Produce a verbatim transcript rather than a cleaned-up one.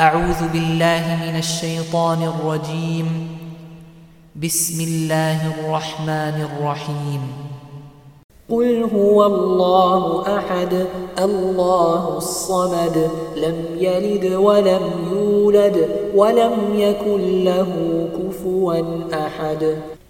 أعوذ بالله من الشيطان الرجيم. بسم الله الرحمن الرحيم. قل هو الله أحد الله الصمد لم يلد ولم يولد ولم يكن له كفوا أحد.